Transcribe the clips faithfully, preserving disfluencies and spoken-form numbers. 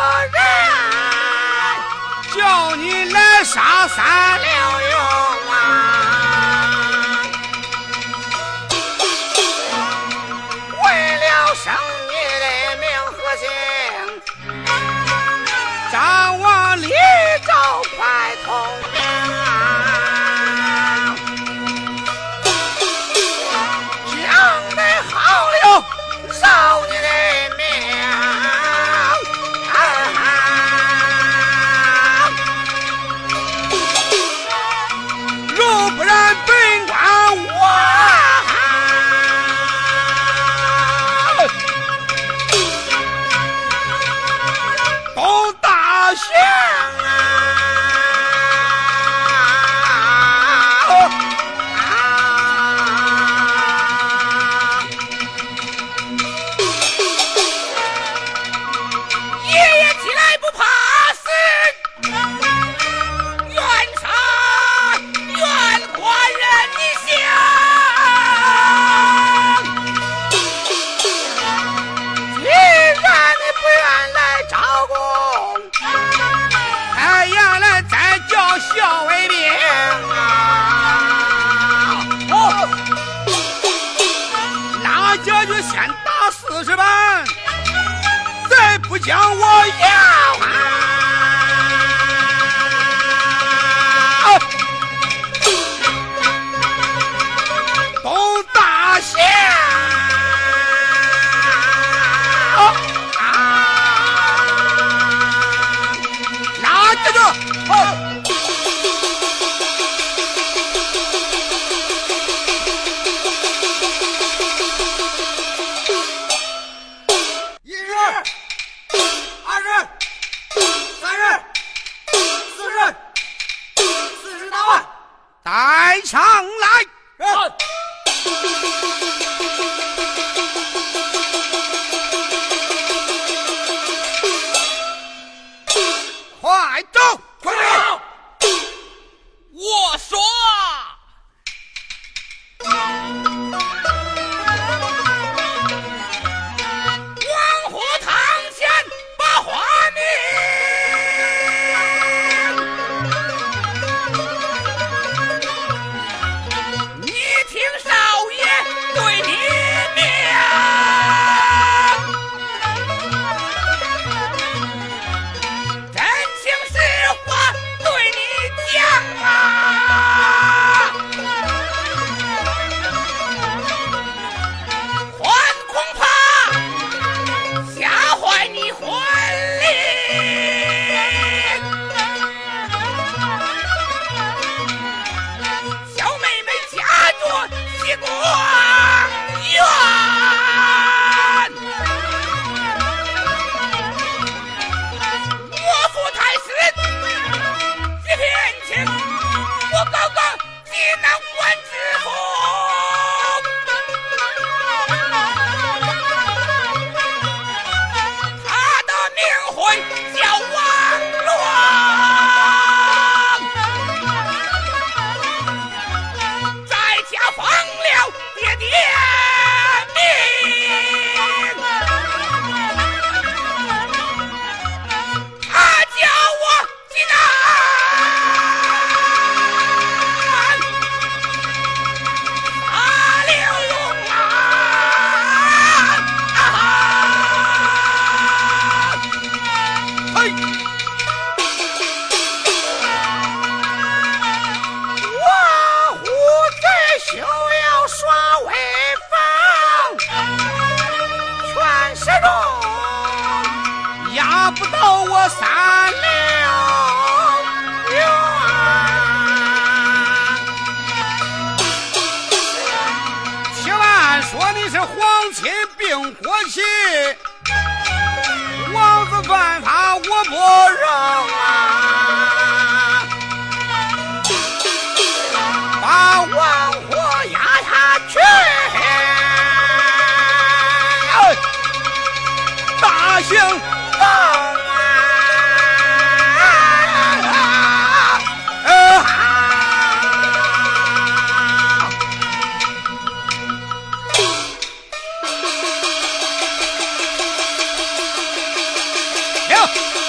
人，叫你来杀三六勇啊！为了生你的名和姓，张王李赵快通明啊！讲得好了，饶你的命。不然本官我东大刑啊！爷爷起来不怕死，冤杀冤花人你想，既然你不愿来招供，还愿来再叫校尉兵啊！哦，那家就先打四十板，再不将我要啊！东大县啊，那这就好。一十、二十、三十、四十、四十大万，带上来。快走，快走！ 我说王虎堂前把花名，你听少爷对你命，真情实话对你讲啊！还恐怕吓坏你婚礼。小妹妹嫁着西宫院，我父太师一片情，我哥哥济南官知府。他的名讳叫王乱，在家放了爹爹命，他叫我济南阿六勇啊！嘿，我虎贼休要耍威风，全世中压不到我三六勇。且慢说你是皇亲并国戚，王子犯法我不容啊！把王火压下去，大刑放啊！行。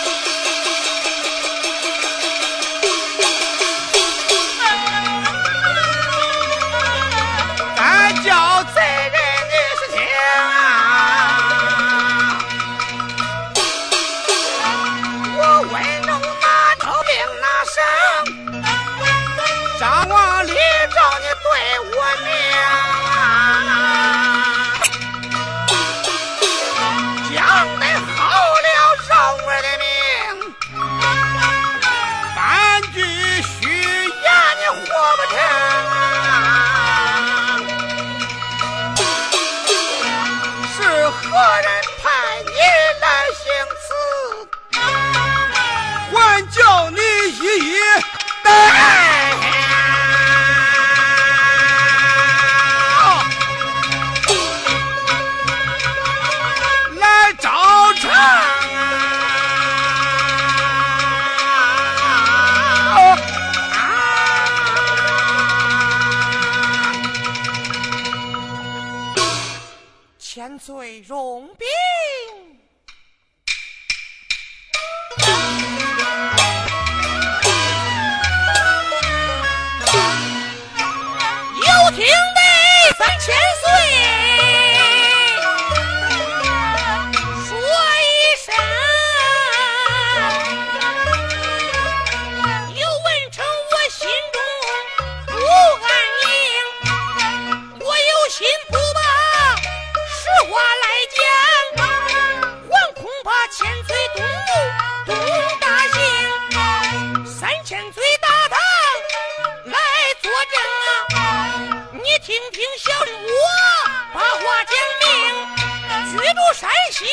三千岁说一声，有文成我心中不安宁，我有心不把实话来讲，还恐怕千岁动怒动大刑，三千岁大堂来作证啊！你听听小人我把话讲明，居住山西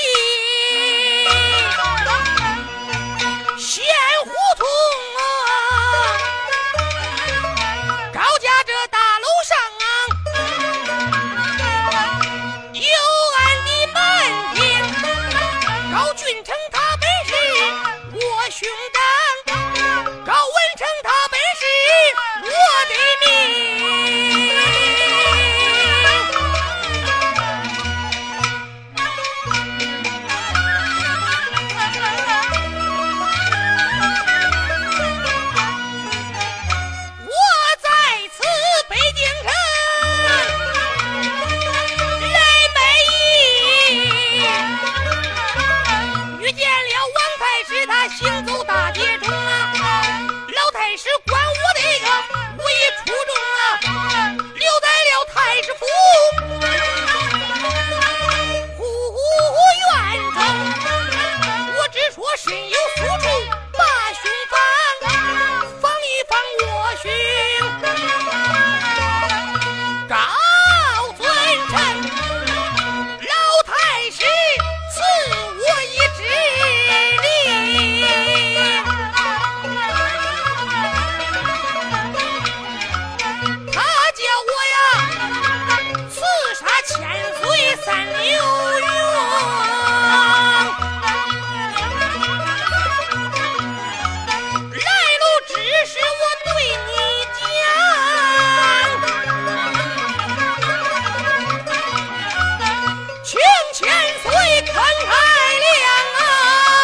县胡同啊，高家这大楼上有俺的门庭，高俊成他本是我兄长，高文成他本是我的命。我在此北京城来卖艺，遇见了王太师，他行走大街中啊，老太师管我这个武艺出众啊，留在了太师府护院中，我只说身有数处把兄防，防一防我兄高尊称，老太师赐我一指令，他叫我呀刺杀千岁三流勇，来路之事我对你讲，请千岁慷慨谅啊，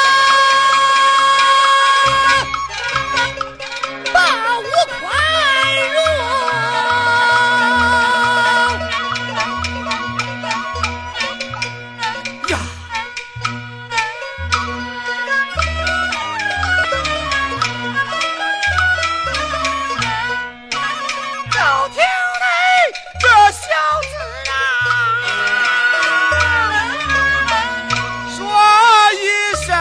把我宽容呀！ 就听你这小子啊说一声，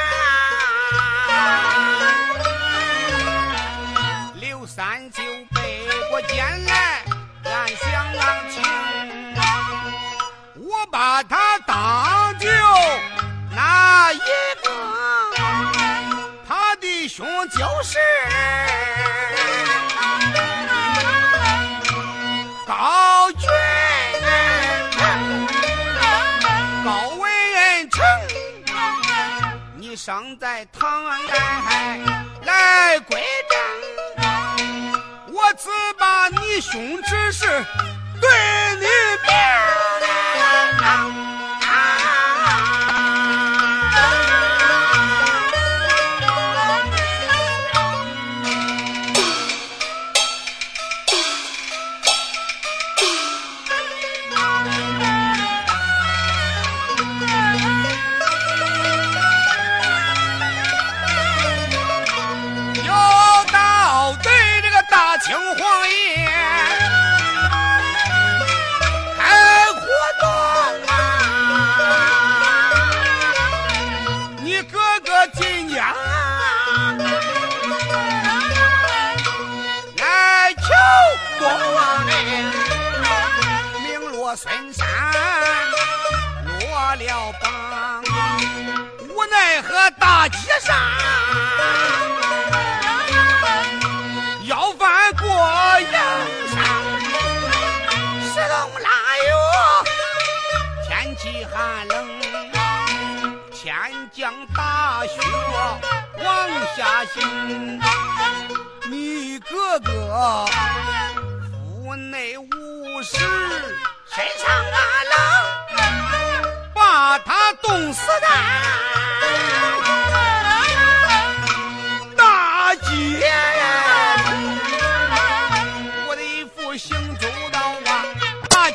刘三就背过肩来，俺想俺情，我把他当就那一个，他的兄就是高俊成，高文成，你生在唐安来来归正，我只把你兄之事对你明啊！有道对这个大清皇爷开活动啊，你哥哥今年来求国王令，名落孙山落了榜，无奈何大街上要翻过洋山，石龙腊月天气寒冷，天降大雪往下行，你哥哥腹内无食，身上啊冷，把他冻死的大街，我的一副行走道啊，大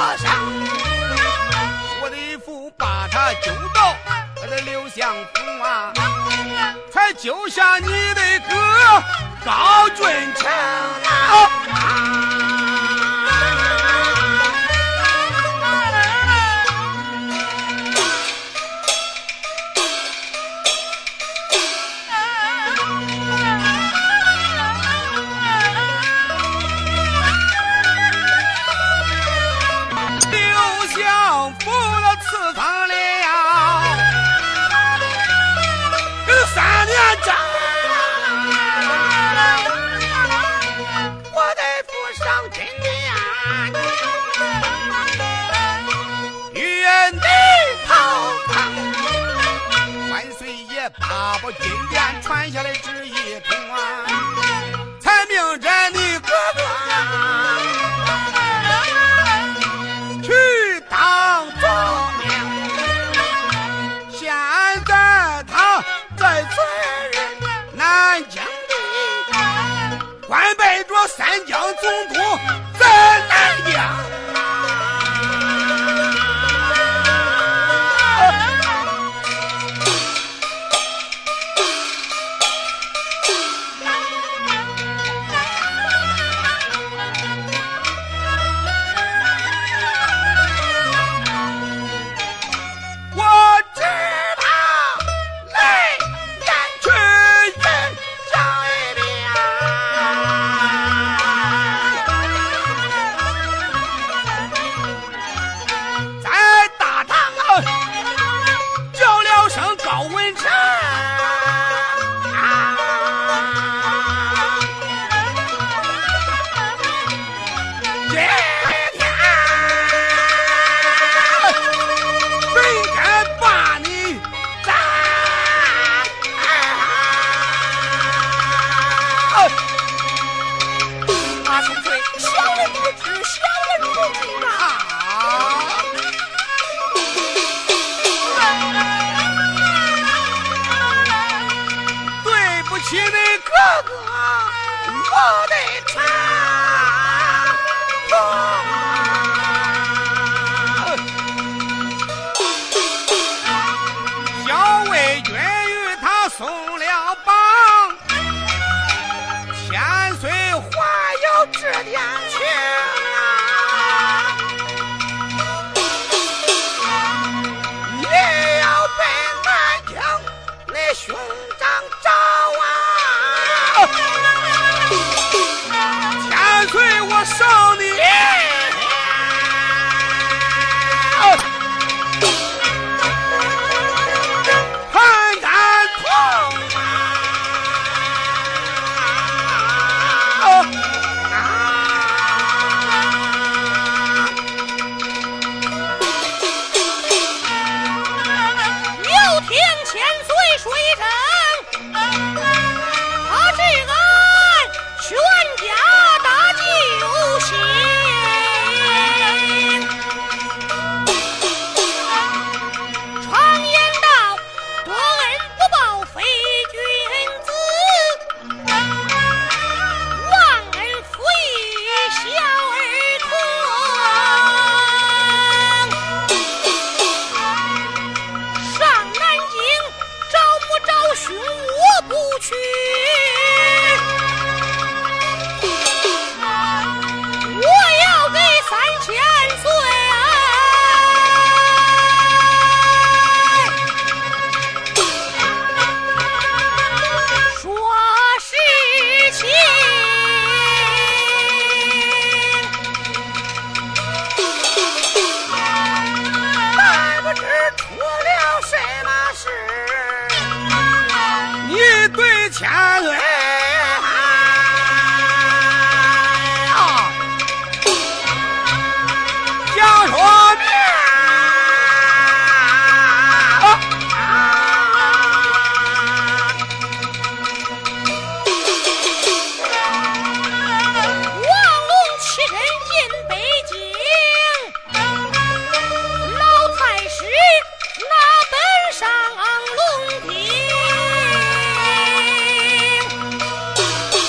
上，我得扶把他救到我的刘相府啊，才救下你的哥高俊成啊！把把金殿传下来旨意通啊，才命着你哥哥去当总兵。现在他在此人南京里官拜着三江总督，在南疆。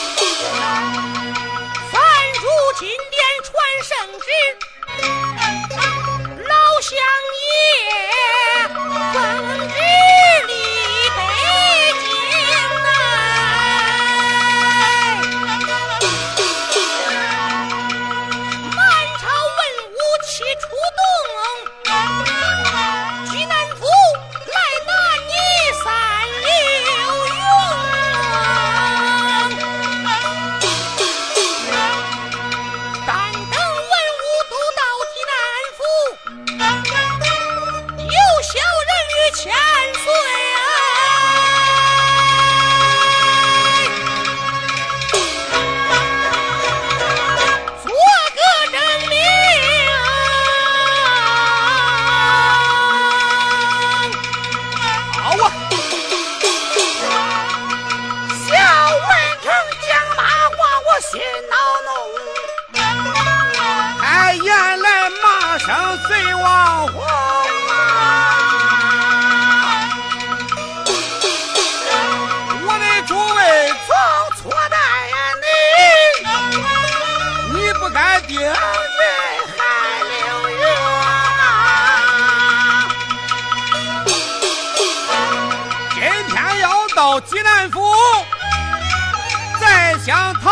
金殿传圣旨， 称隋王皇啊！我的诸位曾错待你，你不该定罪害刘云啊！今天要到济南府，再想讨